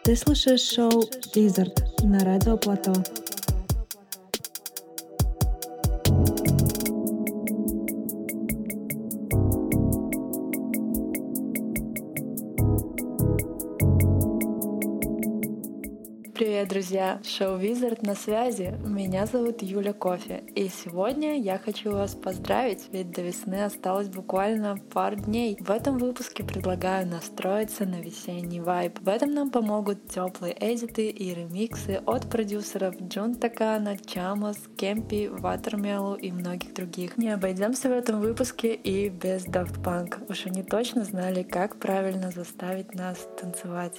Ты слушаешь шоу Wizard на Радио Плато. Привет, друзья! Шоу Wizard на связи. Меня зовут Юля Кофе. И сегодня я хочу вас поздравить, ведь до весны осталось буквально пару дней. В этом выпуске предлагаю настроиться на весенний вайб. В этом нам помогут теплые эдиты и ремиксы от продюсеров Джун Такана, Чамос, Кемпи, Ватермелу и многих других. Не обойдемся в этом выпуске и без Daft Punk. Уж они точно знали, как правильно заставить нас танцевать.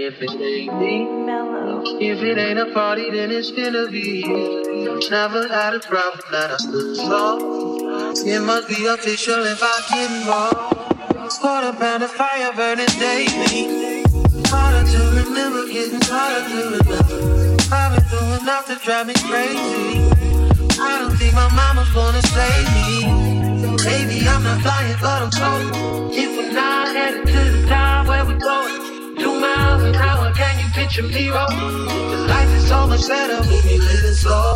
if it ain't me. If it ain't a party, then it's gonna be. Never had a problem that I stood tall. It must be official if I get involved. Quarter pound of fire burning daily. Harder to remember, getting harder to remember. I've been through enough to drive me crazy. I don't think my mama's gonna save me. Baby, I'm not flying, but I'm floating. If we're not headed to the top, where we going? 2 miles an hour, can you picture me rolling? 'Cause life is so much better when we living slow.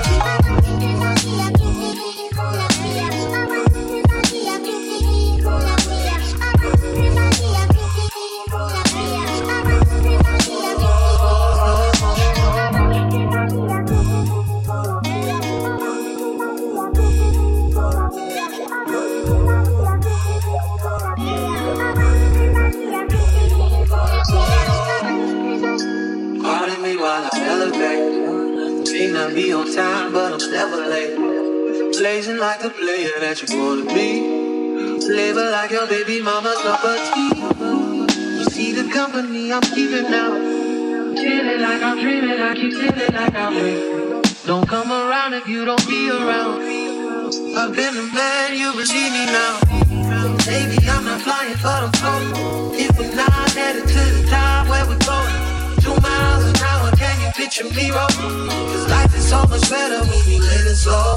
Pardon me while I elevate. May not be on time, but I'm never late. Blazing like the player that you wanna be. Labor like your baby mama's cup of tea. You see the company I'm keeping now. Feeling like I'm dreaming, I keep feeling like I'm dreaming. Don't come around if you don't be around. I've been the man, you believe me now. Baby, I'm not flying, but I'm floating. If we're not headed to the top, where we going? 2 miles an hour, can you picture me rolling? 'Cause life is so much better when we live it slow.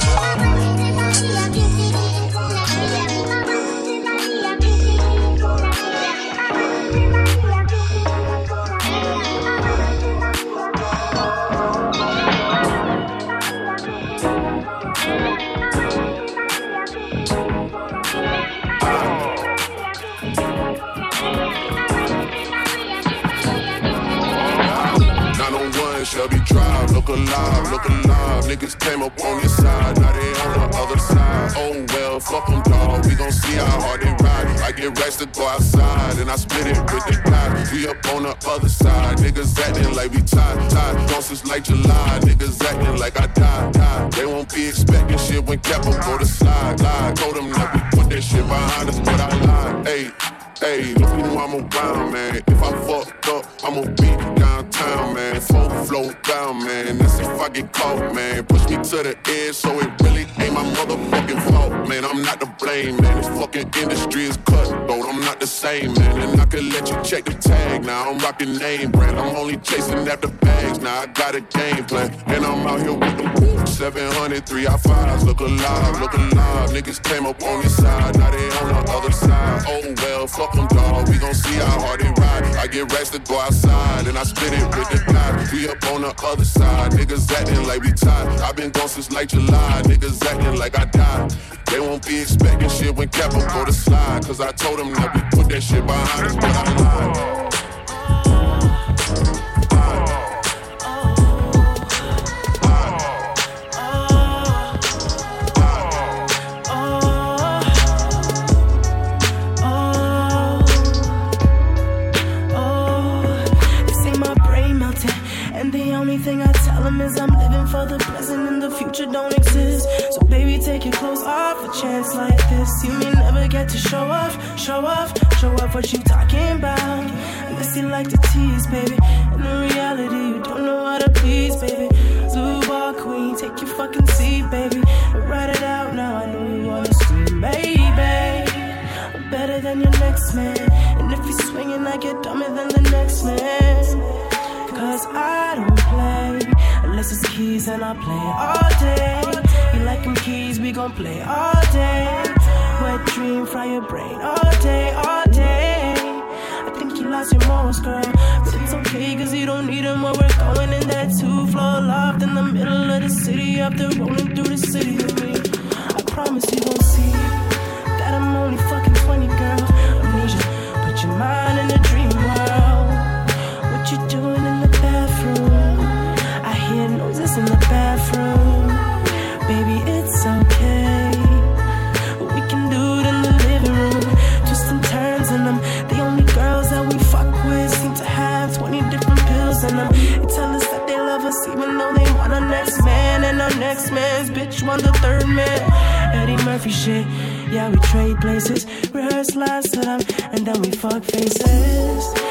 Shelby Drive, look alive, look alive. Niggas came up on this side, now they on the other side. Oh well, fuck them dawg, we gon' see how hard they ride. I get racks to go outside, and I split it with the guy. We up on the other side, niggas acting like we tied. Gone since like July, niggas acting like I died. They won't be expecting shit when Capo go to slide. Told them that we put that shit behind us, but I lied. Hey, if you know I'm around, man. If I fucked up, I'ma be downtown, man. Full flow down, man. That's if I get caught, man. Push me to the edge, so it really ain't my motherfucking fault, man. I'm not to blame, man. This fucking industry is cutthroat. I'm not the same, man. And I can let you check the tag. Now I'm rocking name brand. I'm only chasing after bags. Now I got a game plan, and I'm out here with them 700 3i5s. Look alive, look alive. Niggas came up on this side, now they on the other side. Oh well, fuck them dawg. We gon' see how hard they ride. I get racks to go outside, and I split it with the guy. We up on the other side. Niggas acting like we tied. I've been gone since like July. Niggas acting like I died. They won't be expecting shit when Capo go to slide. 'Cause I told them that we put that shit behind us, but I lied. I'm living for the present and the future don't exist. So baby, take your clothes off. A chance like this, you may never get to show off what you talking about. Unless you like to tease, baby. And in reality, you don't know how to please, baby. Blue ball queen, take your fucking seat, baby. And write it out now. I know you wanna scream, baby. I'm better than your next man. And if you're swinging, I get dumber than the next man. 'Cause I don't play unless it's keys, and I play all day. You like them keys, we gon' play all day. Wet dream, fry your brain all day, all day. I think you lost your morals, girl, but it's okay 'cause you don't need them when we're going in that 2-floor loft in the middle of the city. After rolling through the city with me, I promise you gon' see that I'm only fucking 20, girl. Amnesia, put your mind in a dream world. What you doing in the bathroom? I hear noises in the bathroom. Baby, it's okay. We can do it in the living room. Twisting turns in them. The only girls that we fuck with seem to have 20 different pills in them. They tell us that they love us even though they want our next man. And our next man's bitch want the third man. Eddie Murphy shit. Yeah, we trade places. Rehearse lines to them and then we fuck faces. Yeah,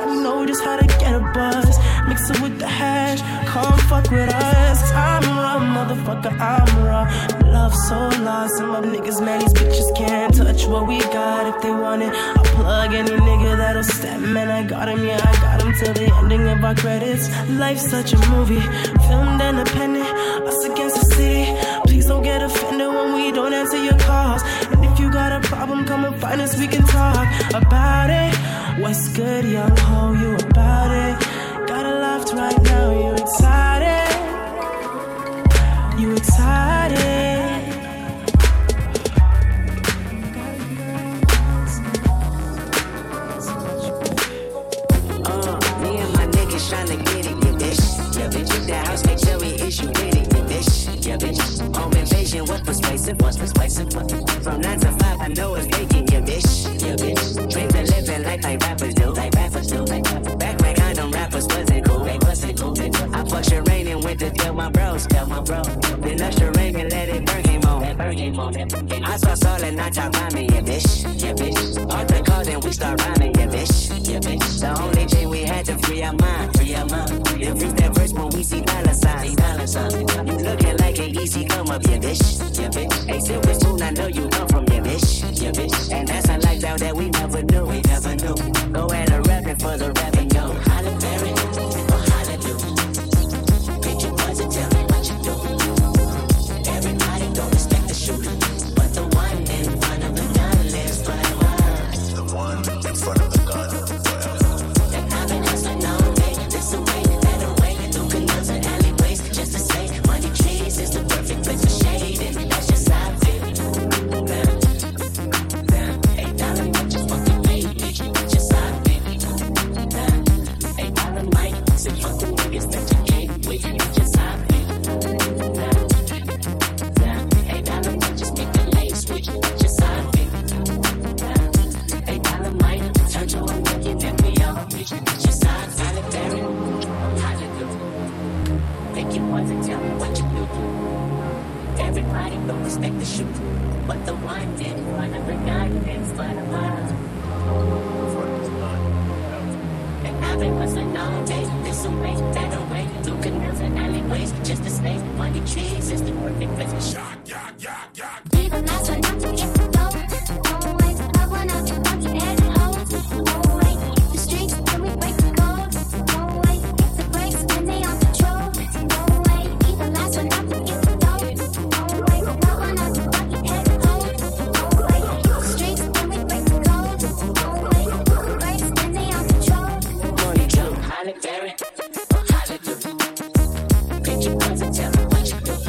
we know just how to get a buzz. Mix it with the hash, come fuck with us. I'm raw, motherfucker, I'm raw. Love so lost, and my niggas mad, these bitches can't touch what we got. If they want it, I'll plug any nigga that'll step. Man, I got him, yeah, I got him till the ending of our credits. Life's such a movie, filmed independent, us against the city. Please don't get offended when we don't answer your calls. And if you got a problem, come and find us, we can talk about it. What's good, young ho, you about it? Got a loft right now, you excited? You excited? Me and my niggas tryna get it, yeah, bitch. Yeah, bitch, if that house make sure we issue with it, yeah, bitch. Yeah, bitch. Home invasion was persuasive, From 9 to 5, I know it's vacant, yeah, bitch. Yeah, bitch. Dreams of living life like rappers do, Back when condom rappers wasn't cool, I fuck Sherane and went to tell my bros, Then usher Sherane and let it burn him on. I saw Saul and I talk about me, yeah, bitch. Arthur called and we start rhyming, yeah, bitch. The only thing we had to free our mind. Then reach that verse when we see dollar signs. You looking like an easy come up, yeah, bitch. Hey, Silver Spoon, I know you come from, yeah, bitch. And that's a lifestyle that we never knew. Go at a rapping for the rapping, yo. Holla Berry, or holla do. Pick your buzz and tell me what you do. Everybody don't respect the shooter, but the one in front of the gun lives forever. The one in front of the gun forever. And I've been hustling all day, this away, that away, through canals and alleyways, just to say, money trees is the perfect place for shade, and that's just how I feel. $8 might just fucking pay, that's just how I feel. $8 might say fuck the niggas that you came with, that's just how I feel. $8 might just make the lane switch, that's just how I feel. $8 might turn to a million and we all rich, that's just how I feel. Make you want to tell me what you do. Everybody don't respect the shoot, but the one in front of the guy in front of us. And I've been hustling all day, this away, that away, through canals and alleyways, just to stay. Money trees is the perfect place for shot. Be the last one not to get the dough. Always love one out to lucky and hoes. Always the streets when we break the code. Always the breaks when they on control. Always be the last one not to get the dough. Always love one out to lucky and hoes. Always the streets when we break the code. Always the breaks when they on control. Money jump, Halle Berry, or Halle do. Pick your points and tell me what you do.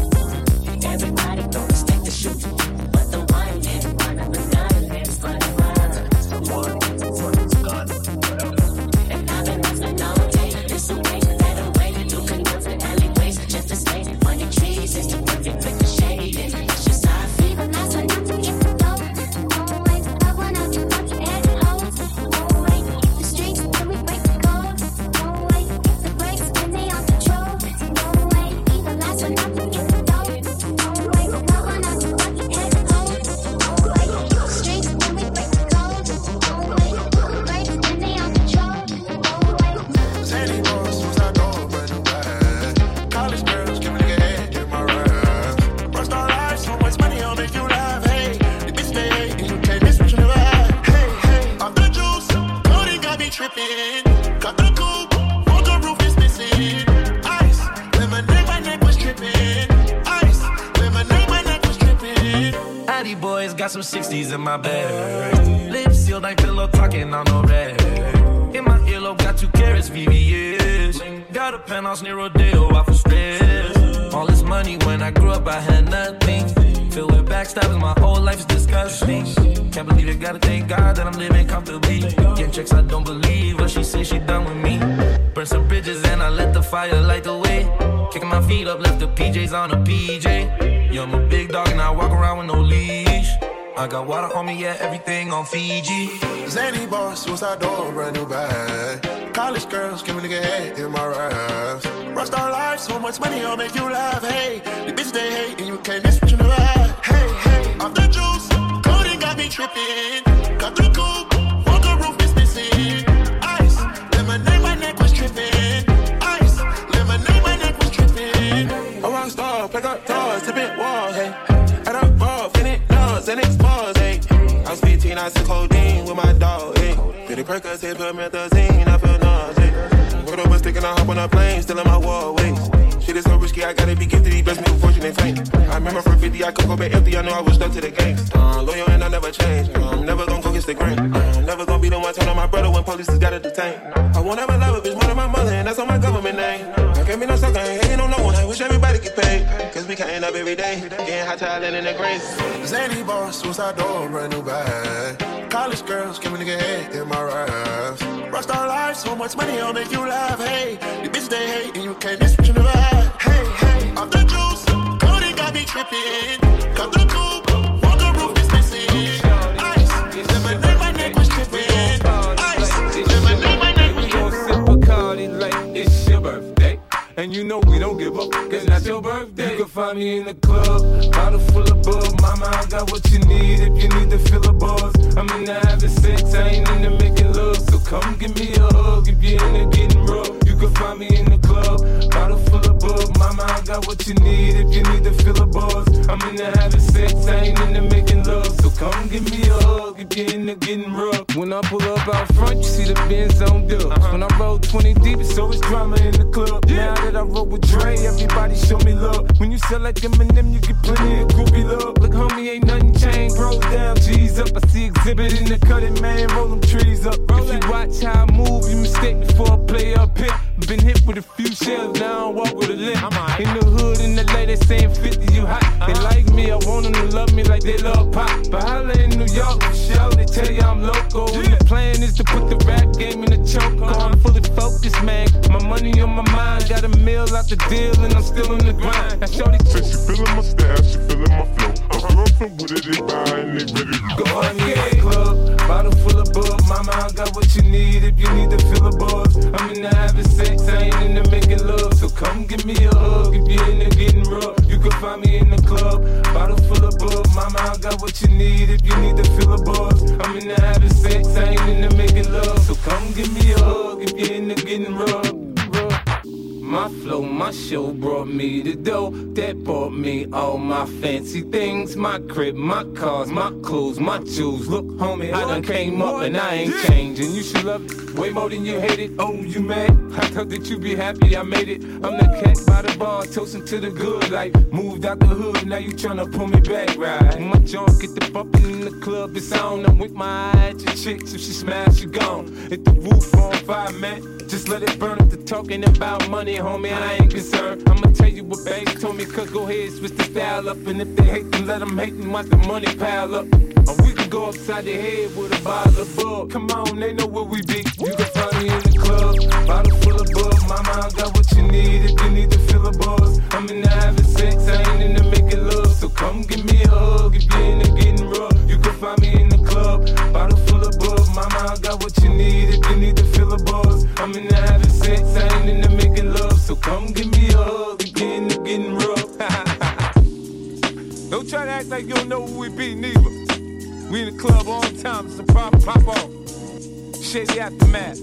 Everybody don't respect the shoot, but the one in front of the gun lives forever. The one in front of the gun forever. And I've been hustling all day, this away, that away, through canals and alleyways, just to stay. Money trees is the perfect place for shade, and that's just how I feel. Be the last one not to get the dough. Always love one out to lucky and hoes. Always the streets when we break the code. Always the breaks when they on control. Always be the last one not to get the dough. Always love one out to lucky and hoes. Always the streets when we break the code. Always the breaks when they on control. Always. Zany boys, since I know a brand new bag. College girls, give me the head in my rap. Rust our lives, so much money, I'll make you laugh. Hey, the bitch they hate, and you can't miss what you never had. Hey, off the juice, Cody got me tripping. Cut the coupe, walker roof is missing. Ice, lemonade, my neck was tripping. Ice, lemonade, my neck was tripping. Addy boys got some 60s in my bag. Lips sealed, ain't pillow talking on no rag. In my earlobe, got 2 carats, VVS. Got a penthouse near Rodeo, off of stress. All this money, when I grew up, I had nothing. Filled with backstabbing, my whole life's disgusting. Can't believe it, gotta thank God that I'm living comfortably. Getting checks, I don't believe what she says she done with me. Burn some bridges and I let the fire light the way. Kicking my feet up, left the PJs on a PJ. Yeah, I'm a big dog and I walk around with no leash. I got water on me, yeah, everything on Fiji. Zany boss, suicide door, brand new bag. College girls, give me the head in my raps. Rust our lives, so much money, I'll make you laugh. Hey, the bitch they hate, and you can't miss what you never had. Hey, off the juice, Cody got me tripping. Cut the coupe, walker roof is missing. Ice, that wall, hey. Had a ball, finish nuts and expose, hey. I was 15, I took codeine with my dog, hey. Did it Percocet, put methazine, I feel nauseous. Put up a stick and I hop on a plane, still in my wallways. Shit is so risky, I gotta be gifted, he blessed me with fortune and fame. I remember from 50, I could go back empty, I know I was stuck to the game. Loyal and I never change, I'm never gonna go against the grain. Never gonna be the one turn on my brother when police just gotta detain. I won't ever love a bitch more than my mother, and that's on my government name. I can't be no sucker, I ain't hating on no one, I wish everybody get paid. Cause we can't up every day, getting hot talent in the grace. Zany boss, suicide door, brand new bag. College girls, give me nigga head in my raps. Rockstar life, so much money, I'll make you laugh. Hey, the bitch they hate, and you can't miss what you never had. Hey, hey, off the juice, Cody got me tripping. Cut the coupe, walk the roof is missing. Ice, never knew my neck was tripping. Ice, never knew my neck was tripping. We gon' sip Bacardi like it's your birthday. And you know we don't give up, cause that's your birthday. You can find me in the club, bottle full of bug. Mama, I got what you need if you need to fill a buzz. I'm into having sex, I ain't into making love. So come give me a hug if you're into getting rough. You can find me in the club, bottle full of bug. Mama, I got what you need if you need to fill a buzz. I'm into having sex, I ain't into making love. So come give me a hug if you're into getting rough. When I pull up out front, you see the Benz on dubs. When I roll 20 deep, it's always drama in the club. Now that I roll with Dre, everybody show me love. When you sell like Eminem, you get plenty of groupie love. Look, homie, ain't nothing changed. Roll down, G's up. I see exhibit in the cutting, man. Roll them trees up. If you watch how I move, you mistake before I play up here. Been hit with a few shells, now I don't walk with a limp. In the hood, in the LA, they saying 50, you hot. They like me, I want them to love me like they love pop. But holla in New York, for sure, they tell you I'm loco. And the plan is to put the rap game in the choke. I'm fully focused, man. My money on my mind, got a meal out the deal, and I'm still in the grind. Now, shorty, Said she feeling my style, she feeling my flow. I'm roughin' with it, they buy and they ready to go. Find me in the club, bottle full of bug. Mama, I got what you need if you need to fill a buzz. I'm into having sex, I ain't into making love. So come give me a hug if you're into getting rough. You can find me in the club, bottle full of bug. Mama, I got what you need if you need to fill a buzz. I'm into having sex, I ain't into making love. So come give me a hug if you're into getting rough. My flow, my show brought me the dough that bought me all my fancy things. My crib, my cars, my clothes, my jewels. Look, homie, I done came up and I ain't changing. You should love it way more than you hate it. Oh, you mad? I thought that you be happy I made it. I'm the cat by the bar, toasting to the good life. Moved out the hood, now you tryna pull me back, right? My junk get the bumping in the club, it's on. I'm with my eye at your chicks, if she smash, she gone. Hit the roof on fire, man. Just let it burn up the talking about money, homie, I ain't concerned. I'ma tell you what baby told me, cause go ahead, switch the style up. And if they hate, then let them hate and watch the money pile up. Or we can go upside the head with a bottle of bug. Come on, they know where we be. You can find me in the club, bottle full of bug. Mama, I got what you need if you need to fill a buzz. I'm into having sex, I ain't into making love. So come give me a hug if you're into getting rough. You can find me in the club, bottle full of bug. Mama, I got what you need if you need to fill a buzz. I'm into having sex, I ain't into making love. So come give me a hug if you're into getting rough. Don't try to act like you don't know who we be, neither. We in the club all the time, so pop off. Shady aftermath.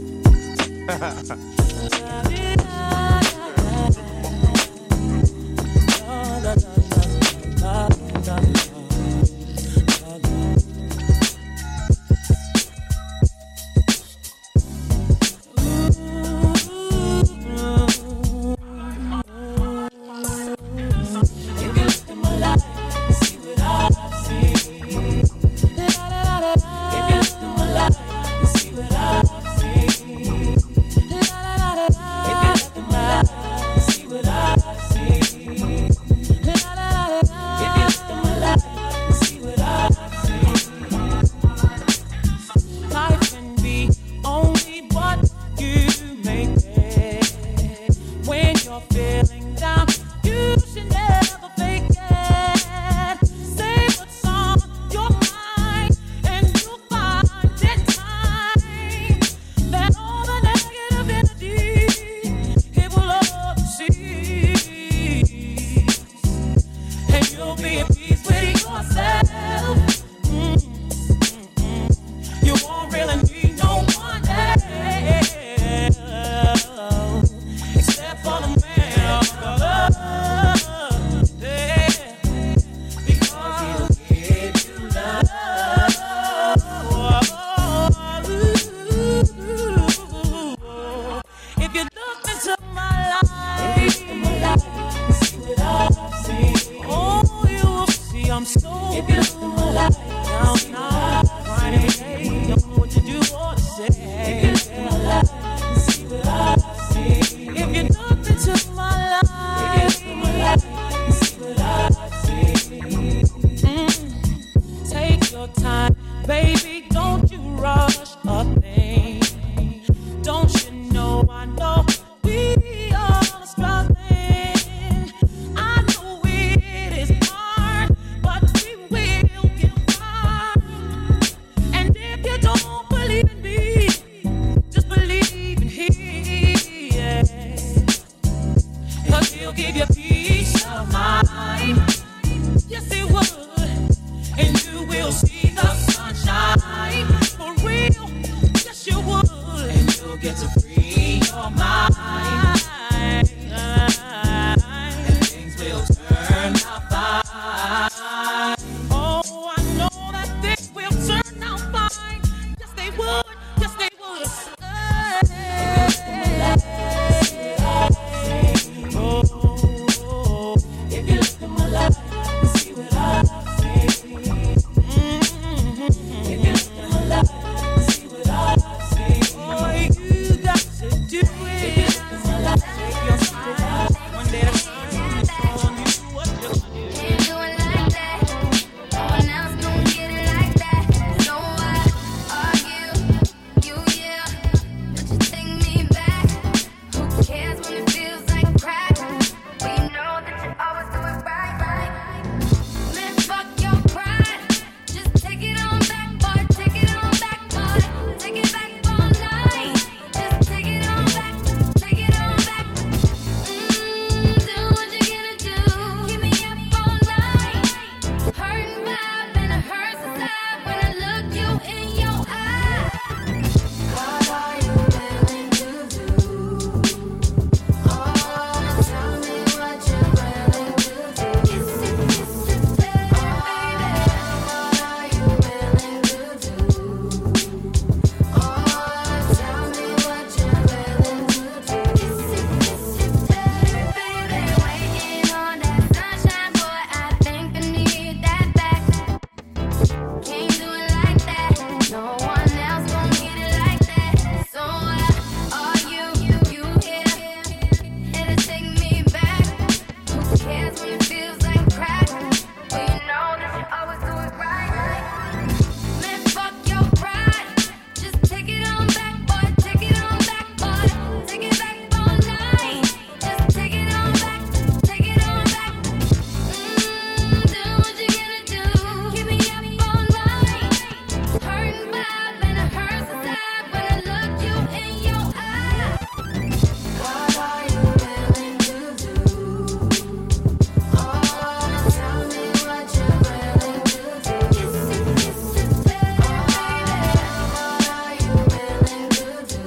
I'm so if you look in my life now, Friday, don't know what to do or to say. If you look in my life and see what I see. If you look into my life, if you look in my life and see what I see. Take your time, baby, don't you rush a thing. Don't you know I know we are struggling. I know it is hard, but we will get by. And if you don't believe in me, just believe in Him. Yeah. 'Cause He'll give you peace of mind. Yes, He would. And you will see the sunshine. For real, yes, you would. And you'll get to free your mind. And things will turn out fine. Oh, I know that things will turn out fine. Yes, they would. Yes, they would. Oh, if you look at my life and see what I see. If you look at my life and see what I see. Oh, you got to do it. If you look at my life, take your step. One day at a time, it's on you what you're gonna do. Can't do it like that. No one else gon' get it like that. So I argue, you yeah, but you take me back. Who cares when it feels like crack? We know that you always do it right, right. Man, fuck your pride. Just take it on back, boy. Take it on back, boy. Take it back all night. Just take it on back. Take it on back. Do what you gotta do. Keep me up all night. Hurting vibe and it hurts inside when I look you in your eye. What are you willing to do? Oh, tell me what you're willing to do. Kiss it, baby. What are you willing to do? Oh, tell me what you're willing to do. Kiss it, baby. Waiting on that sunshine, boy. I think I need that back. Can't do it like that. No one else gon' get it like that. So are you here? It'll take me back. Who cares when it feels like crack? Well, you know that you always do it right. Man, fuck your pride. Just take it on back, boy. Take it on back, boy. Take it back all night. Just take it on back. Take it on back. Do what you gotta do. Keep me up all night. Hurting vibe and it hurts inside when I look you in your eye. What are you willing to do? Oh, tell me what you're willing to do. Kiss it, baby. What are you willing to do?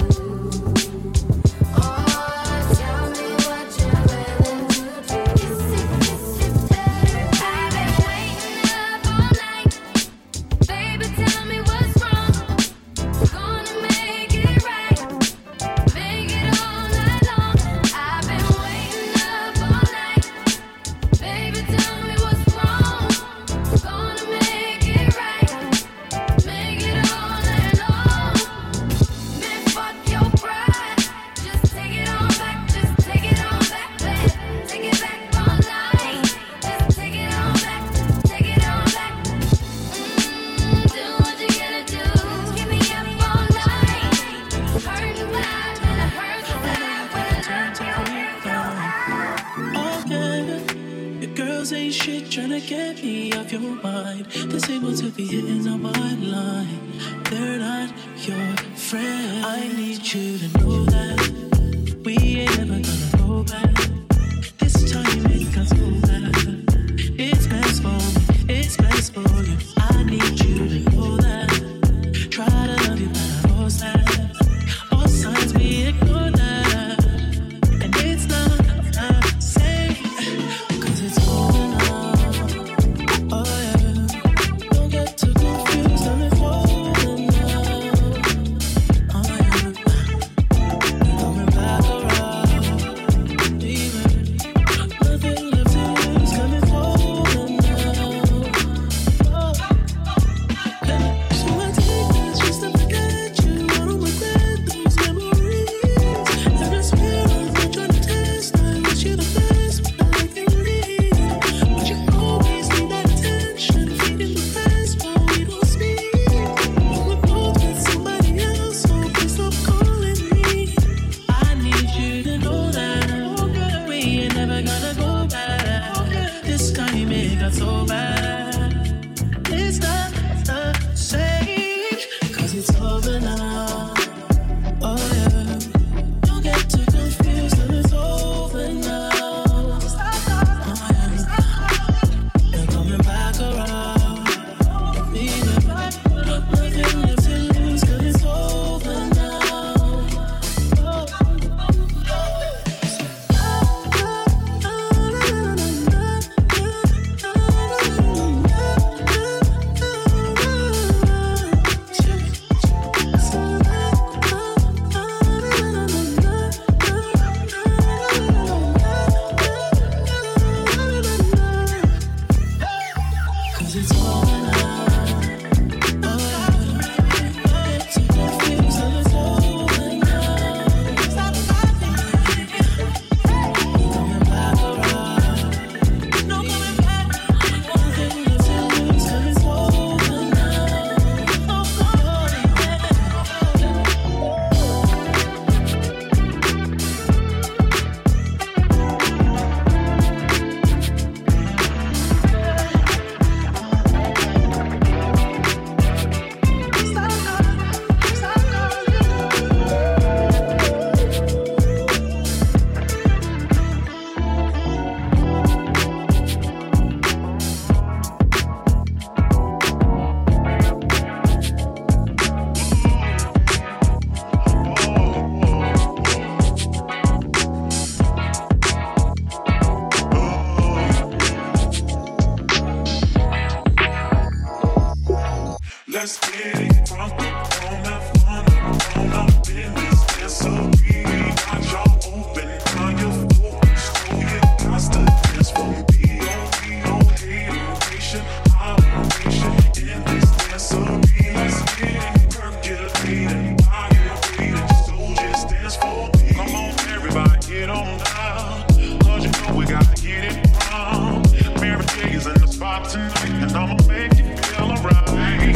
Oh, tell me what you're willing to do. Kiss it, baby. I've been waiting up all night. Baby, tell me what's wrong. Gonna make it right. Make it all night long. I've been waiting up all night. Baby, tell me what's wrong. Gonna make it right. Make it all night long. Man, fuck your pride. Just take it on back. Just take it on back, babe. Take it back all night. Just take it on back. Take it on back. Do what you gotta do. Keep me up all night. Hurting vibe and it hurts inside when I look you in your eye. Okay, your girls ain't shit tryna get me off your mind. This able to be hitting on my line. They're not your friend. I need you to know that we ain't ever gonna go back. This time you make us go back. It's best for me, it's best for you. I need you to know that. Try to love you, but I lost that. All signs we ignore that. And it's not safe, 'cause it's going on. Oh yeah, don't get too confused, I'm falling now. Oh yeah, we're coming back around. Nothing left to lose, coming falling now. not so bad. It's not the same, 'cause it's over now. Oh yeah, you get too confused and it's over now. Oh yeah, you're coming back around. Nothing left to lose 'cause it's over now. Let's get it drunk on that fun up in this dancery. Got y'all open, now you're focused, so you got to dance for me. No hateration, holleration in this dancery. Let's get it percolating while you're waiting, so just dance for me. Come on, everybody, get on down, 'cause you know we got to get it wrong. Mary J is in the spot tonight, and I'ma make you feel alright.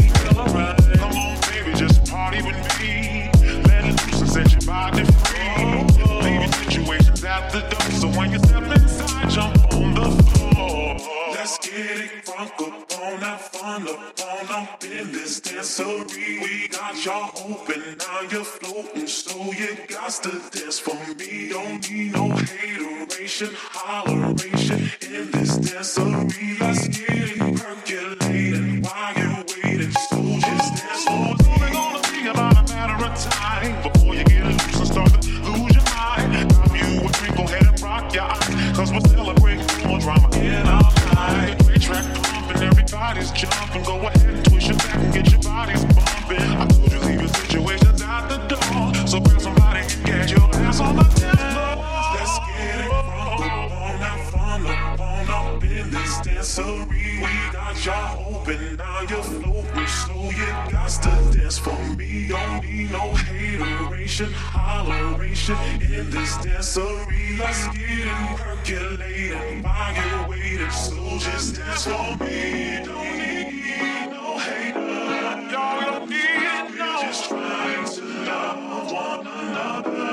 Come on, baby, just party with me. Let it loose and set your body free. Leave your situations at the door, so when you step inside, jump on the floor. Let's get it drunk up on that fun up in this dancery. We got y'all open, now you're floating, so you got to dance for me. Don't need no hateration, holleration in this dancery. Let's get it percolating while you're waiting, so just dance for me. It's only gonna be about a matter of time before you get loose and start to lose your mind. Grab you a drink, go ahead and rock your eyes, 'cause we're celebrating more drama in our life. Great track pumping, everybody's jumping. Go ahead and twist your back and get your bodies bumping. I told you leave your situations at the door, so grab somebody and get your ass on the dance floor. Let's get it drunk up on that fun up in this dancery. We got y'all open, now you're floating, so you got to dance for me. Don't need no hateration, holleration in this dancery. Let's get it percolating while you're waiting, so just dance for me. Don't need no hater, y'all don't need no. We're just trying to love one another.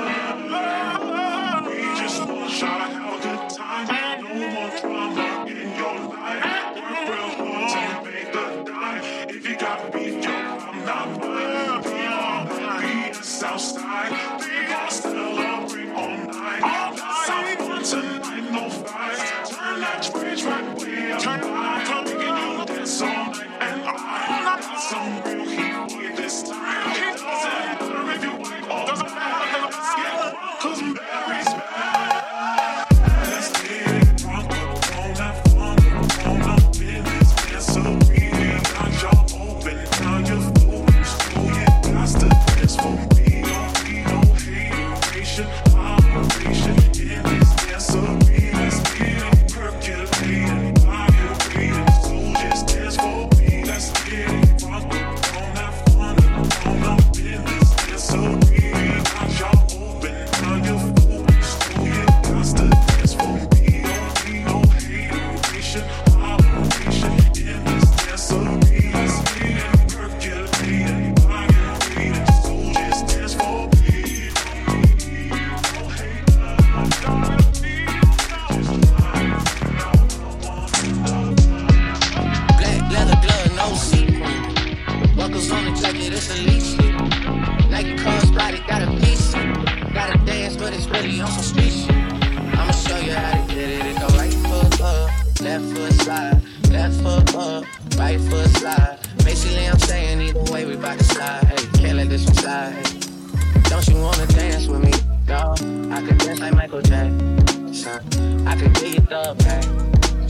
We just want y'all to have a good time. No more drama in your life. Work real hard to make the dime. If you got beef, yo, I'm not mine. We all be the Southside. We gon' celebrate all night. Let's have fun tonight, no fights. Turn that rage right way up high. Making you dance all night, and I got some real heat for you this time. It doesn't matter if you white or black. Let's get drunk, 'cause Mary's back. Let's get it drunk up on that fun up in this dancery. Got y'all open, now you're floating, so you got to dance for me. Don't need no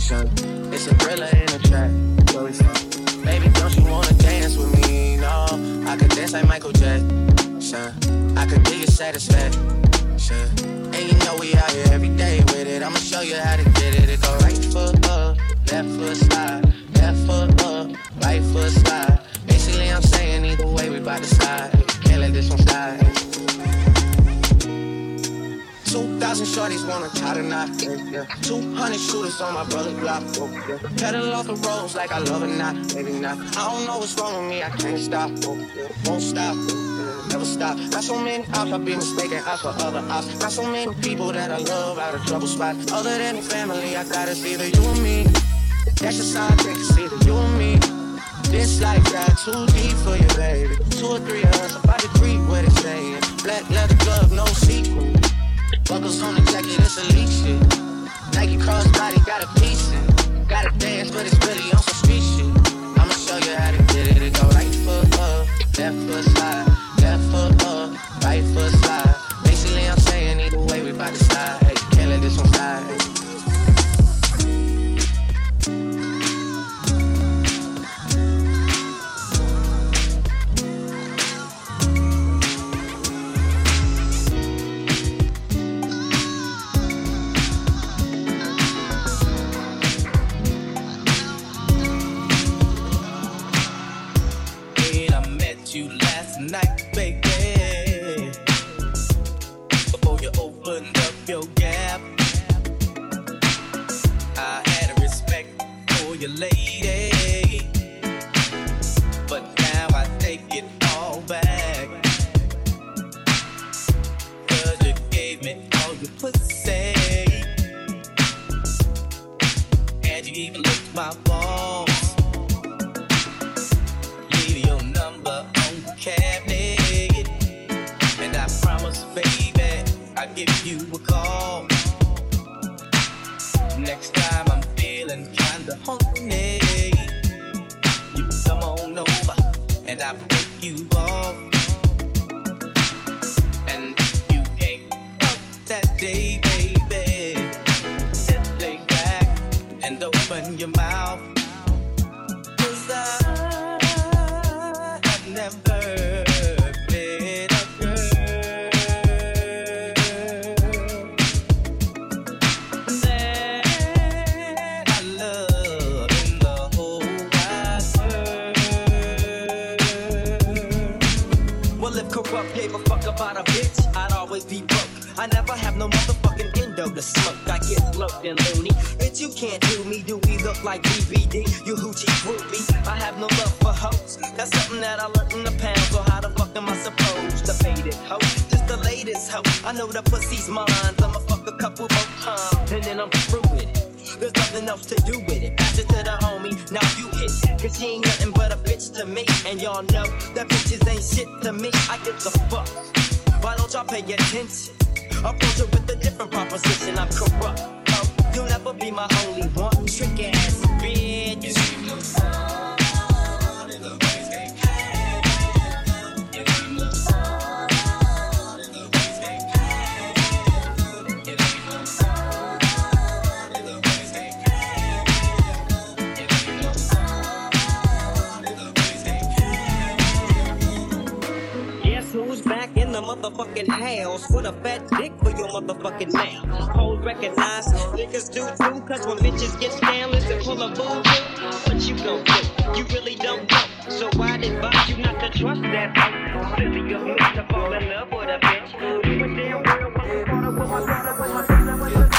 son. It's a thriller in a track. Where we from? Baby, don't you wanna dance with me? No, I could dance like Michael Jackson. I could give you satisfaction. And you know we out here every day with it. I'ma show you how to get it. It go right foot up, left foot slide, left foot up, right foot slide. Basically, I'm saying either way we bout to slide. Can't let this one slide. 2,000 shorties wanna tie the knot. 200 shooters on my brother's block. Pedal off the roads like I love it not, maybe not. I don't know what's wrong with me, I can't stop. Won't stop, never stop. Got so many ops, I be mistaken ops for other ops. Got so many people that I love out of trouble spots. Other than family, I gotta see either you and me. That's just how I think it's either you and me. This life got too deep for you, baby. 2 or 3 of us, about to creep what it's saying. Black leather glove, no sequel. Buckles on the jacket, it's elite shit. Nike crossbody, got a piece in. Gotta dance, but it's really on some street shit. I'ma show you how to get it. It go right foot up, left foot slide, left foot up, right foot slide. Basically, I'm saying either way we bout to slide. Hey, can't let this one slide. 'Cause she ain't nothing but a bitch to me. And y'all know that bitches ain't shit to me. I give a fuck. Why don't y'all pay attention? Approach it with a different proposition. I'm corrupt. Oh, you'll never be my only one. Trick ass bitch. The motherfucking house with a fat dick for your motherfucking mouth. Hoes recognize niggas do too, cause when bitches get down, listen, pull a boo. What you gon' do? You really don't know. So I'd advise you not to trust that bitch. Silly of me to fall in love with a bitch. You a damn real motherfucker with my brother, with my brother, with my brother.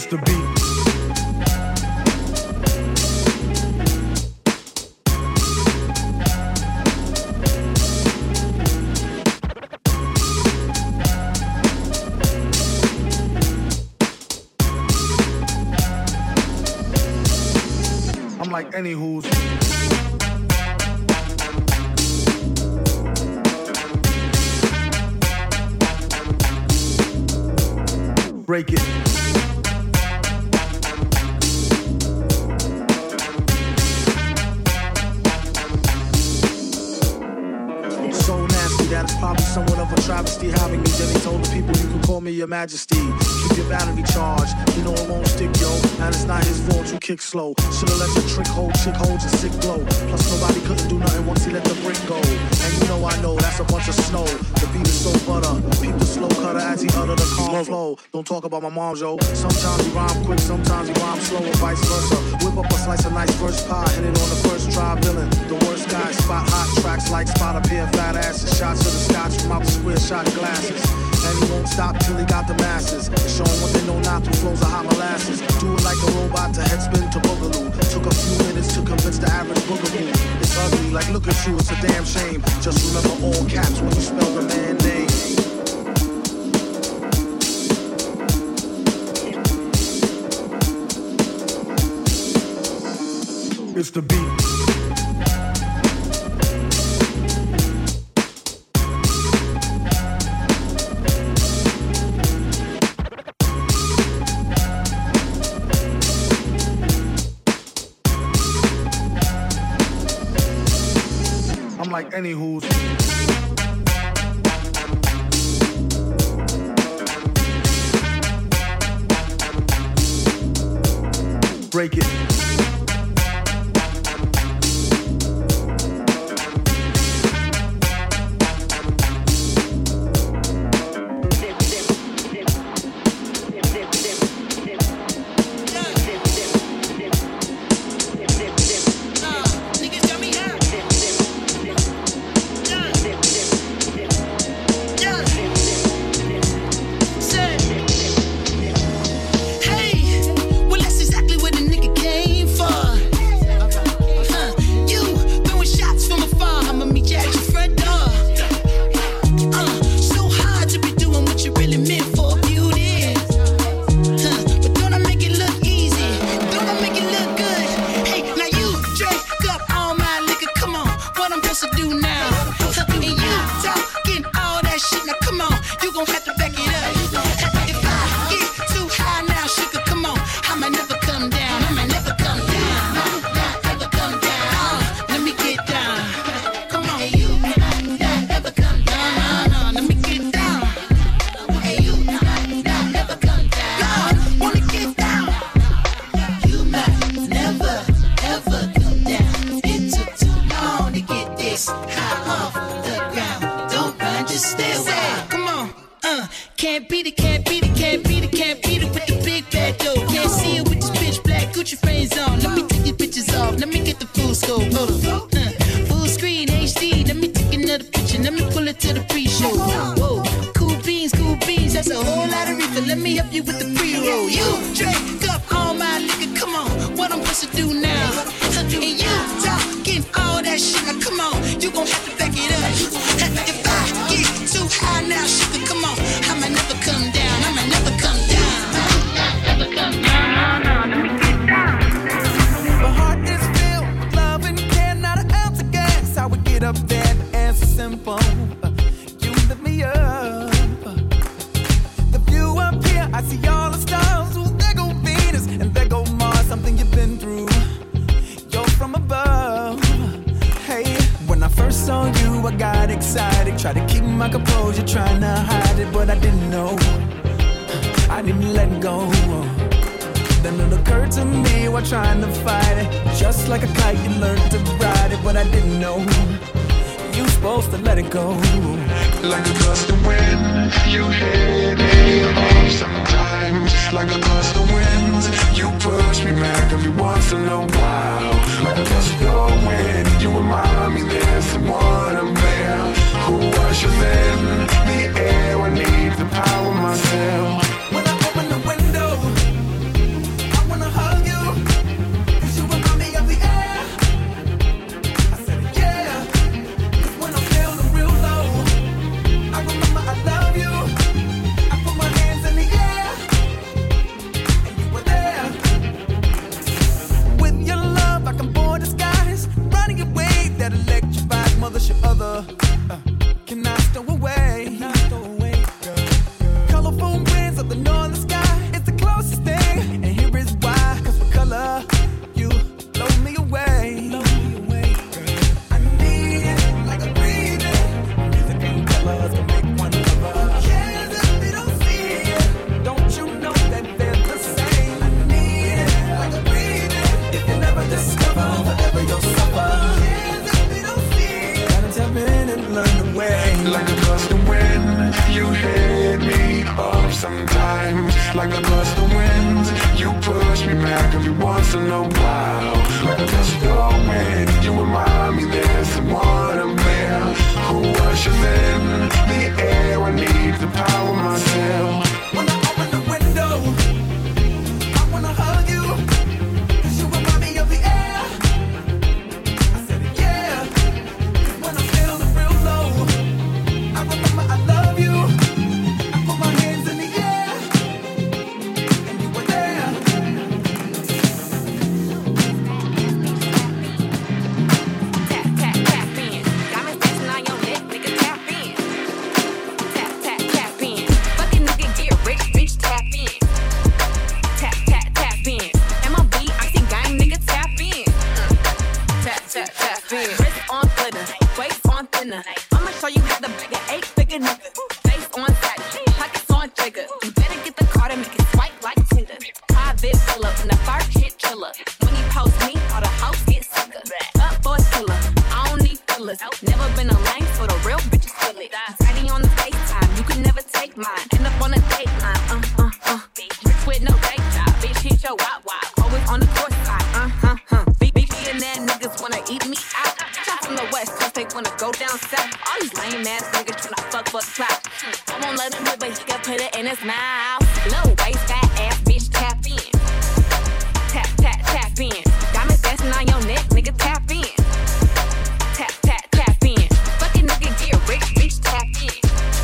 It's the beat. I'm like any who's. Break it. So nasty that it's probably somewhat of a travesty having me. Then he told the people you can call me your majesty. Keep your battery charged, you know it won't stick, yo. And it's not his fault you kick slow. Should've let the trick hold, chick hold your sick glow. Plus nobody couldn't do nothing once he let the brick go. And you know I know that's a bunch of snow. The beat is so butter. Peep the slow cutter as he utter the calm flow. Don't talk about my mom, yo. Sometimes he rhyme quick, sometimes he rhyme slow, or vice versa. Whip up a slice of nice first pie, hit it on the first try, villain. The worst guy, spot hot tracks like spot a pair of fat asses. Shots of the scotch from out the square shot glasses. And he won't stop till he got the masses. Show them what they know now through flows of hot molasses. Do it like a robot to headspin to boogaloo. Took a few minutes to convince the average boogaboo. It's ugly, like look at you, it's a damn shame. Just remember all caps when you spell the man name. It's the beat. I'm like any who's. Break it. Can't beat it, can't beat it, can't beat it, can't beat it with the big bad dough. Can't see it with this pitch black Gucci frames on. Let me take these bitches off, let me get the full scope. Hold on. Full screen HD, let me take another picture, let me pull it to the pre-show. Whoa, cool beans, that's a whole lot of reefer. Let me help you with the pre-roll. You drink up all my liquor, come on, what I'm supposed to do now? And you talking all that shit, now come on, you gon' have to back it up. If I get too high now, sugar, come on, I'ma never come down, I'ma never come down. Never come down, no, let me get down. My heart is filled with love and care, not an ounce of gas. How we get up there, the answer's simple. You lift me up. The view up here, I see all the stars. Ooh, there go Venus and there go Mars. Something you've been through. You're from above. Hey, when I first saw you, I got excited. Tried to keep my composure, trying to hide it, but I didn't know. I didn't let go. Then it occurred to me while trying to fight it. Just like a kite, you learned to ride it, but I didn't know. You supposed to let it go. Like a gust of wind, you hit me off sometimes. Like a gust of wind, you push me back every once in a while. Like a gust of wind, you remind me there's someone up there who ushers in the air. I need to power myself. When I open the window, what's your other? Can I stow away? Colorful winds of the northern sky is the closest thing, and here is why. 'Cause for color, you blow me away. I need it like a breathing. Music and colors can make one lover. Cares if they don't see it. Don't you know that they're the same? I need it like a breathing. If you never discover, forever you'll suffer. Cares if they don't see it. Gotta tap in and learn the way. Like a gust of wind, you hit me up sometimes. Like a gust of wind, you push me back every once in a while. Like a gust of wind, you remind me there's someone I'm there who ushers in the air. I need to power myself. When I open the window, I wanna hug you, 'cause you remind me of the air. I said it, yeah. 'Cause when I feel the real low, I remember I love you. I put my hands in the air, and you were there. Tap, tap, tap in. Diamonds dancing on your neck, nigga, tap in. Tap, tap, tap in. Fucking nigga get rich, bitch, tap in. Tap, tap, tap in. MLB, icy gang, nigga, tap in. Tap, tap, tap in. Wrist on glitter, waist on thinner. I'ma show you how to bag an 8-figure nigga. Face on tight, pockets on trigger. You better get the card and make it swipe like Tinder. Private filler, and the first hit killer. When he post me, all the hoes get sicker. Up for a killer, I don't need fillers. Never been a lame, so the real bitches feel it. Tidy on the FaceTime, you can never take mine. End up on a date line, Rich with no day job, bitch hit your wop. Always on the course side, and that niggas wanna eat me out. Shot from the west coast, they wanna go down south. All these lame ass niggas tryna fuck for the clout. I won't let him live, but he can put it in his mouth. Low waist, fat ass bitch, tap in. Tap, tap, tap in. Diamonds dancing on your neck, nigga, tap in. Tap, tap, tap in. Fucking nigga get rich, bitch, tap in.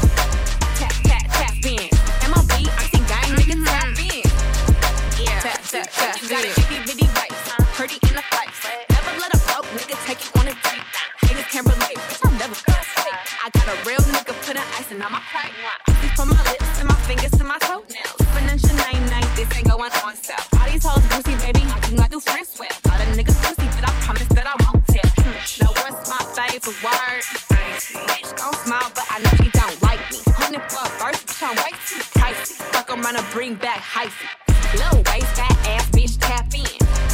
Tap, tap, tap in. MLB, icy gang, nigga, tap in. Yeah, tap, tap, tap in. You got a itty bitty waist, pretty in the face. Never let a broke nigga take you on a date. Niggas can't relate, bitch, I'm never gonna say. I got a real nigga putting icing on my plate. Icy from my lips and my fingers to my toenails. Financial night, this ain't going on sale. All these hoes juicy, baby, I do not do friends with. All the niggas pussy, but I promise that I won't tell. Now what's my favorite word? Bitch gon' smile, but I know she don't like me. Hunting for a first, bitch, I'm way too pricey. Fuck around and bring back hyphy. Low waist, fat ass, bitch, tap in.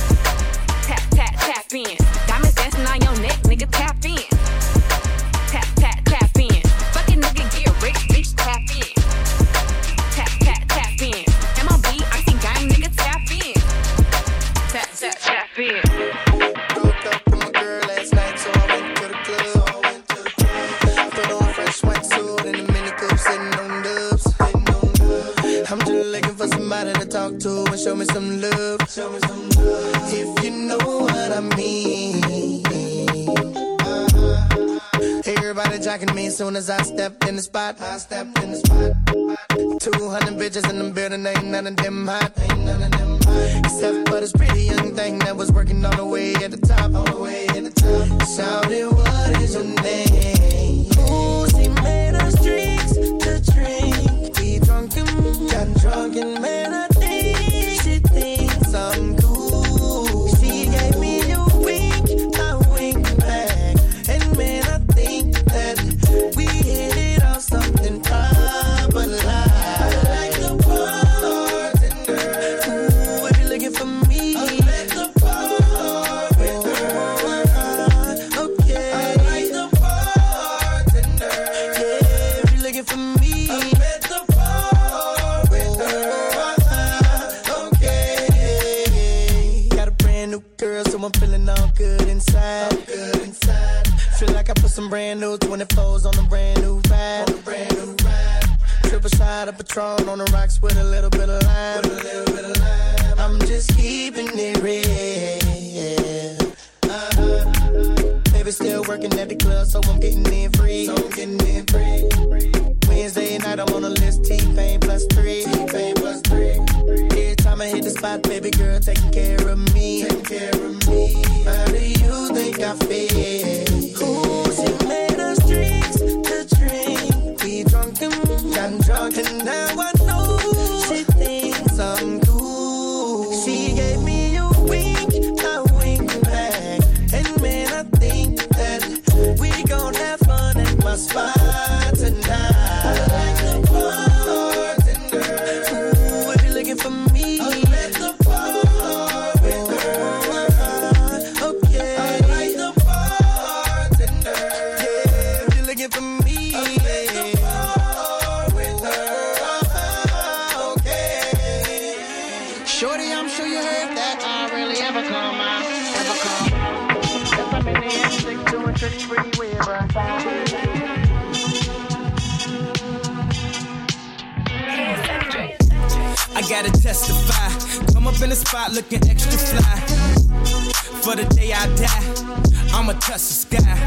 Tap, tap, tap in. Diamonds dancing on your neck, nigga, tap in. Tap, tap, tap in. Fucking nigga get rich, bitch, tap in. Tap, tap, tap in. MLB, icy gang, nigga, tap in. Tap, tap, tap in. Broke up with my girl last night, so I went to the club. Put on fresh white suit and a mini coupe, sitting on dubs. I'm just looking for somebody to talk to and show me some love. If you know what I mean. Everybody jocking me as soon as I stepped in the spot. 200 bitches in the building, ain't none of them hot. Except for this pretty young thing that was working all the way at the top. Shouted, what is your name? Ooh, she made us drinks to drink. We drunk and got drunk and man, I think she thinks I'm cool. She gave me a wink, I winked back. And man, I think that we hit it off something proper like. I like the bartender. Ooh, if you're looking for me, I like the bartender. Okay, I like the bartender. Yeah, if you're looking for me, I met the bartender. Okay, got a brand new girl, so I'm feeling all good inside. Feel like I put some brand new 24s on a brand new ride. Triple shot of Patron on the rocks with a little bit of lime. I'm just keeping it real. Baby still working at the club, so I'm getting in free. Wednesday night I'm on the list, T-Pain +3. Every time I hit the spot, baby girl taking care of me. How do you think I feel? Ooh, she made pretty, pretty weird, but I gotta testify. Come up in the spot looking extra fly. For the day I die, I'ma touch the sky.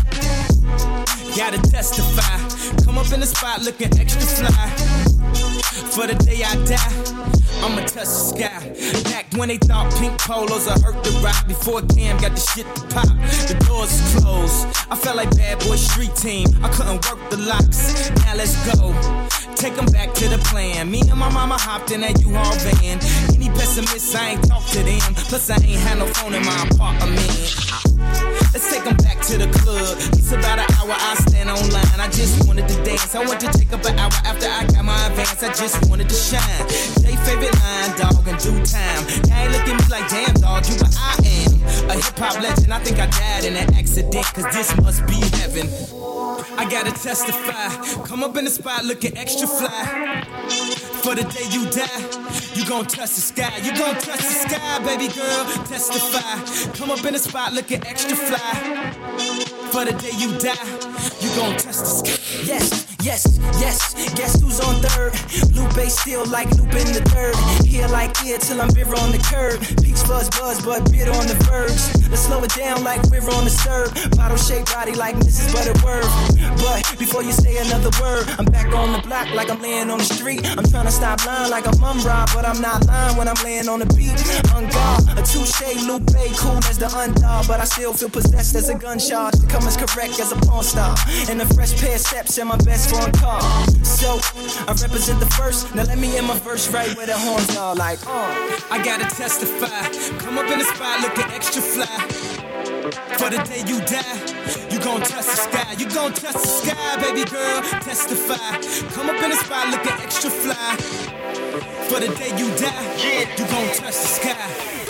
Gotta testify. Come up in the spot looking extra fly. For the day I die, I'ma touch the sky. Back when they thought pink polos would hurt the rock. Before Cam got the shit to pop, the doors is closed. I felt like bad boy street team. I couldn't work the locks. Now let's go. Take them back to the plan. Me and my mama hopped in that U-Haul van. Any pessimists, I ain't talk to them. Plus I ain't had no phone in my apartment. Let's take them back to the club. It's about an hour, I stand online. I just wanted to dance. I want to take up an hour after I got my advance. I just wanted to shine. Jay favorite line, dog, in due time. Now ain't look at me like, damn, dog, you what I am. A hip-hop legend, I think I died in an accident. Cause this must be heaven. I gotta testify. Come up in the spot looking extra fly. For the day you die, you gon' touch the sky. You gon' touch the sky, baby girl. Testify. Come up in the spot looking extra fly. For the day you die, you gon' touch the sky. Yes, yes, yes. Guess who's on third? Lupe still like Lupe in the third. Here like here till I'm bitter on the curb. Peach fuzz buzz, but bitter on the verge. Let's slow it down like we're on the serve. Bottle shaped body like Mrs. Butterworth. But before you say another word, I'm back on the block like I'm laying on the street. I'm trying to stop lying like I'm rob, but I'm not lying when I'm laying on the beat. On guard, a touche, Lupe, cool as the undog, but I still feel possessed as a gun charge. To come as correct as a porn star. And a fresh pair of steps in my best foreign car. So, I represent the first. Now let me in my verse right where the horns are like, I gotta testify. Come up in the spot looking extra fly. For the day you die, you gon' touch the sky. You gon' touch the sky, baby girl. Testify. Come up in the spot looking extra fly. For the day you die, you gon' touch the sky.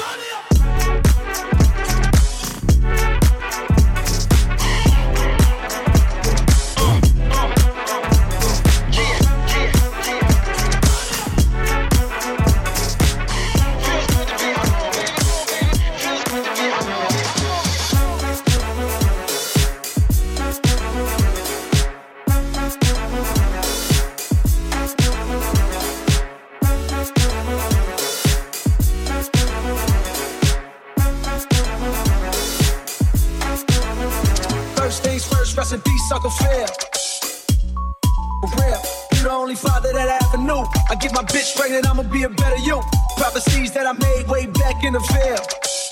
Rest in peace, Uncle Phil. For real, you the only father that I ever knew. I get my bitch pregnant, I'ma be a better you. Prophecies that I made way back in the field.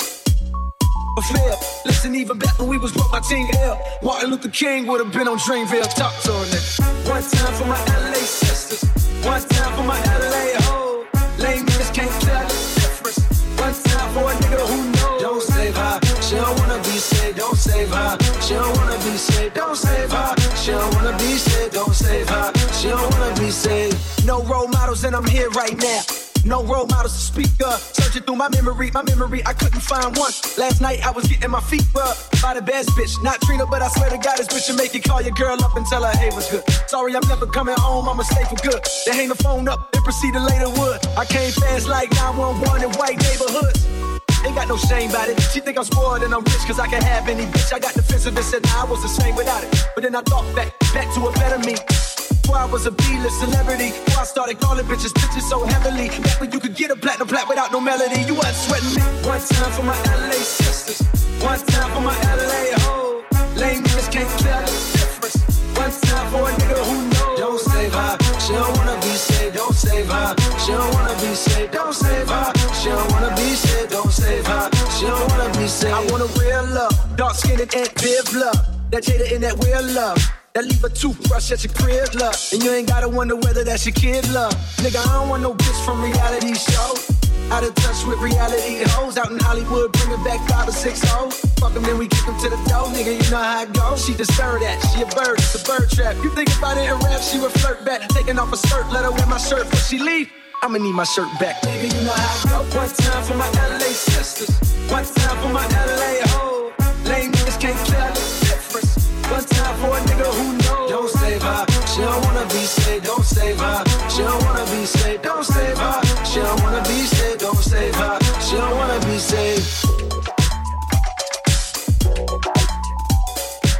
Listen, even back when we was broke, my team ill. Martin Luther King would have been on Dreamville. Talk to a nigga. One time for my LA sisters. One time for my LA hoes. Lame niggas can't tell the difference. One time for a nigga who knows. Don't save her. She don't wanna be saved. Don't save her. She don't wanna be saved. Don't save her. She don't wanna be saved. Don't save her. She don't wanna be saved. No role models and I'm here right now. No role models to speak up. Searching through my memory, I couldn't find one. Last night I was getting my feet rubbed by the best bitch. Not Trina, but I swear to God, this bitch will make you call your girl up and tell her, hey, what's good? Sorry, I'm never coming home, I'ma stay for good. They hang the phone up, then proceed to later wood. I came fast like 911 in white neighborhoods. Ain't got no shame about it. She think I'm spoiled and I'm rich cause I can have any bitch. I got defensive and said, nah, I was the same without it. But then I thought back to a better me. Before I was a B-list celebrity, before I started calling bitches so heavily. Back when you could get a platinum plat without no melody. You wasn't sweating me. One time for my LA sisters. One time for my LA hoes. Lame niggas can't tell the difference. One time for a nigga who knows. Don't save her. She don't wanna be saved. Don't save her. She don't wanna be saved. Don't save her. She don't wanna be saved. Don't save her. She don't wanna be saved. I want a real love. Dark skinned and Viv love. That Jada in that real love. That leave a toothbrush at your crib, love. And you ain't gotta wonder whether that's your kid, love. Nigga, I don't want no bitch from reality show. Out of touch with reality hoes. Out in Hollywood, bringing back 5 or 6 hoes. Fuck them, then we kick them to the door. Nigga, you know how it goes. She deserve that. She a bird, it's a bird trap. You think about it in rap, she would flirt back. Taking off her skirt, let her wear my shirt before she leave. I'ma need my shirt back. Nigga, you know how it go. One time for my LA sisters. One time for my LA hoes. Lame niggas can't tell the difference. One time for a nigga who knows. Don't save her. She don't wanna be saved. Don't save her. She don't wanna be saved. Don't save her. She don't wanna be saved. Don't save her. She don't wanna be saved.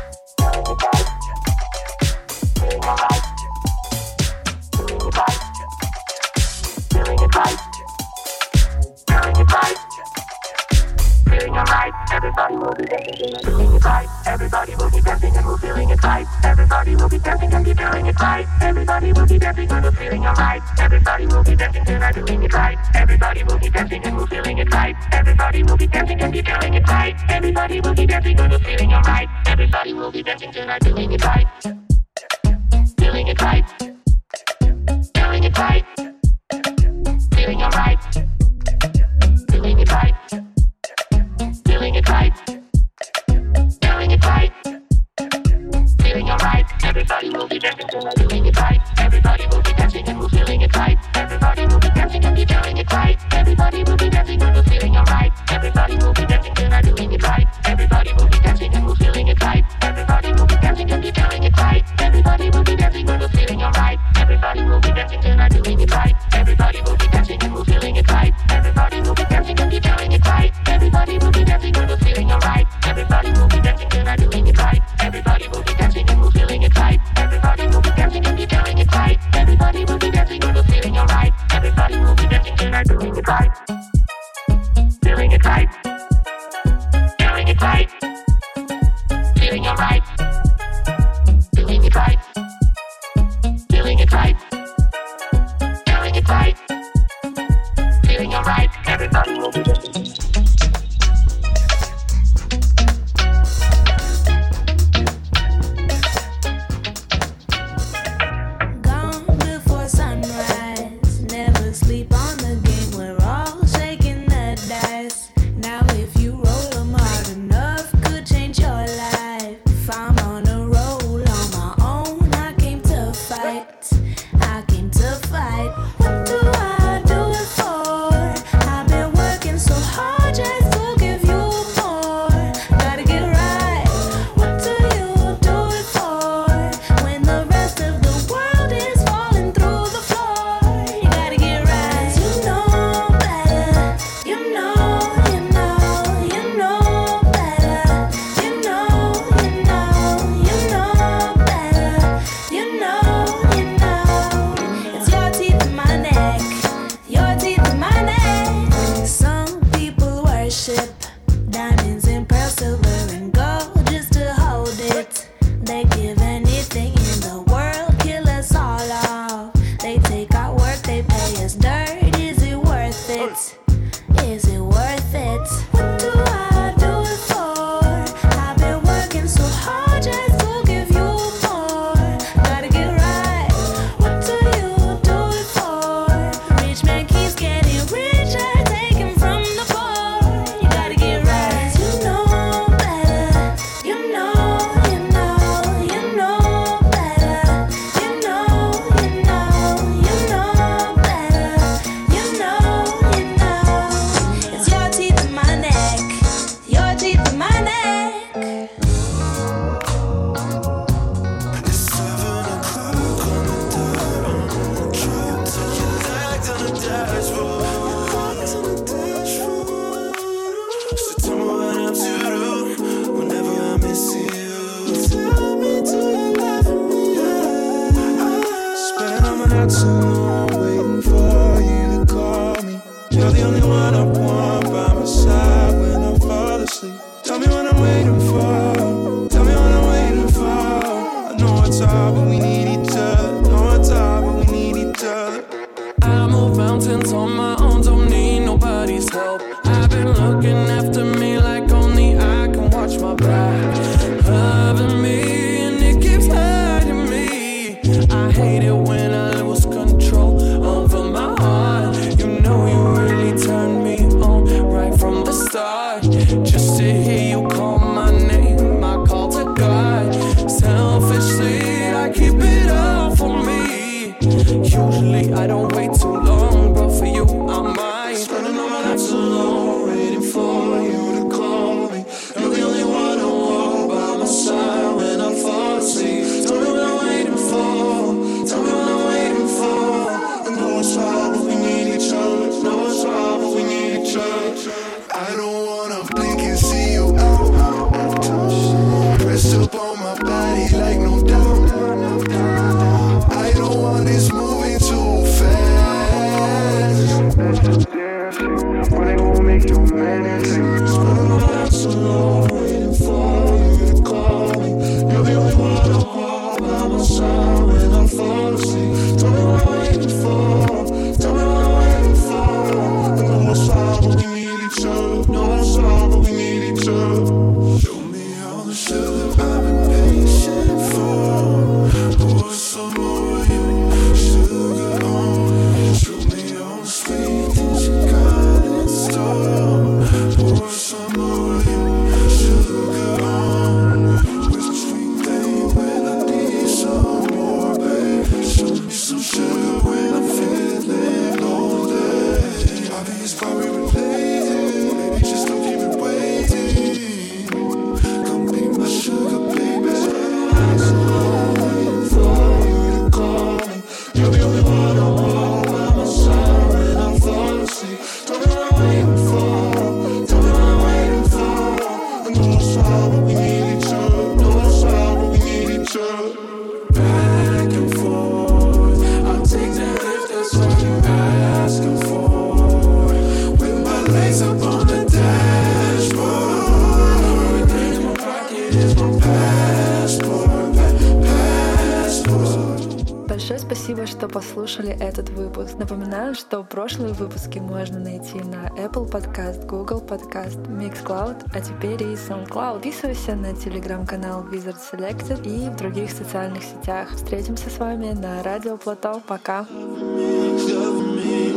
Everybody will be dancing and we're feeling it right. Everybody will be dancing and be feeling it right. Everybody will be dancing and we're feeling alright. Everybody will be dancing and I'm doing it right. Everybody will be dancing and we're feeling it right. Everybody will be dancing and be feeling it right. Everybody will be dancing and we're feeling alright. Everybody will be dancing and I'm doing it right. Feeling it right. Feeling it right. Feeling alright. Feeling it right. Feeling it right. Feeling it right. Feeling alright. Everybody will be dancing and I'm doing it right. Everybody will be dancing and we're feeling it right. Everybody will be dancing and be feeling it right. Everybody will be dancing and we're feeling alright. Everybody will be dancing and I'm doing it right. Everybody will be dancing and we're feeling it right. Everybody will be dancing and be feeling it right. Everybody will be dancing and we're feeling alright. Everybody will be dancing and I'm doing it right. Everybody will be dancing and we're feeling it right. Everybody will be dancing and be feeling it right. Everybody will be dancing and we're feeling alright. Everybody will be dancing and I'm doing it right. Everybody will be dancing and we're feeling it right. Everybody will be dancing and be feeling it right. Everybody will be dancing and we're feeling alright. Everybody will be dancing and I'm doing it right. Feeling it right. Feeling it right. Feeling alright. Feeling it right. Feeling it right. Feeling it right. Feeling alright. Everybody will be dancing. Gone before sunrise. Never sleep on the game. We're all shaking the dice. Now if you roll 'em hard enough, could change your life. If I'm on a roll on my own, I came to fight. I came to fight. What do I do it for? I've been working so hard just to give you more. Gotta get right. What do you do it for? When the rest of the world is falling through the floor, you gotta get right. You know better. You know better. You know better. You know. It's your teeth in my neck. Your teeth in my neck. Some people worship diamonds and pearls, silver and gold just to hold it. They give anything in the world, kill us all off. They take our work, they pay us dirt. Is it worth it? Is it worth it? What do I do it for? I've been working so hard just to give you more. Gotta get right. What do you do it for? Rich man keeps getting richer, taking from the poor. You gotta get right. You know better. You know better. You know better. You know. It's your teeth in my neck. Your teeth in my neck. It's 7 o'clock on the dot. Trying to relax on the dashboard. So tell me what I'm to do whenever I miss you. Tell me, do you love me? Spending all my nights alone waiting for you to call me. You're the only one I want by my side when I fall asleep. Tell me what I'm waiting for. Tell me what I'm waiting for. I know it's hard, but we need each other. Know it's hard, but we need each other. I move mountains on my own, don't need nobody's help. I've been looking after me like only I can watch my back. Loving me and it keeps hurting me. I hate it when I lose control over my heart. You know you really turned me on right from the start. Just to hear you call my name, I call to God. Selfishly, I keep it all for me. Usually I don't wait too long, but for you I might. Spending all my nights alone waiting for you to call me. You're the only one I want by my side when I fall asleep. Tell me what I'm waiting for. Tell me what I'm waiting for. I know it's hard, but we need each other. Know it's hard, but we need each other. I don't wanna blink and see you out. Pressed up on my body like no doubt. I don't want this moving too спасибо, что послушали этот выпуск. Напоминаю, что прошлые выпуски можно найти на Apple Podcast, Google Podcast, Mixcloud, а теперь и SoundCloud. Подписывайся на телеграм-канал Wizard Selected и в других социальных сетях. Встретимся с вами на Радио Плато. Пока! Love me.